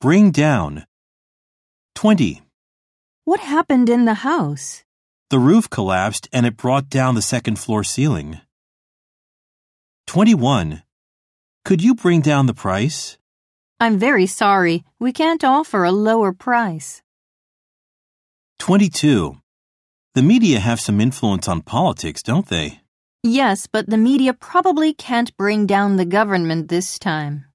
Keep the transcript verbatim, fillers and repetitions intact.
Bring down. twenty. What happened in the house? The roof collapsed and it brought down the second floor ceiling. twenty-one. Could you bring down the price? I'm very sorry. We can't offer a lower price. twenty-two. The media have some influence on politics, don't they? Yes, but the media probably can't bring down the government this time.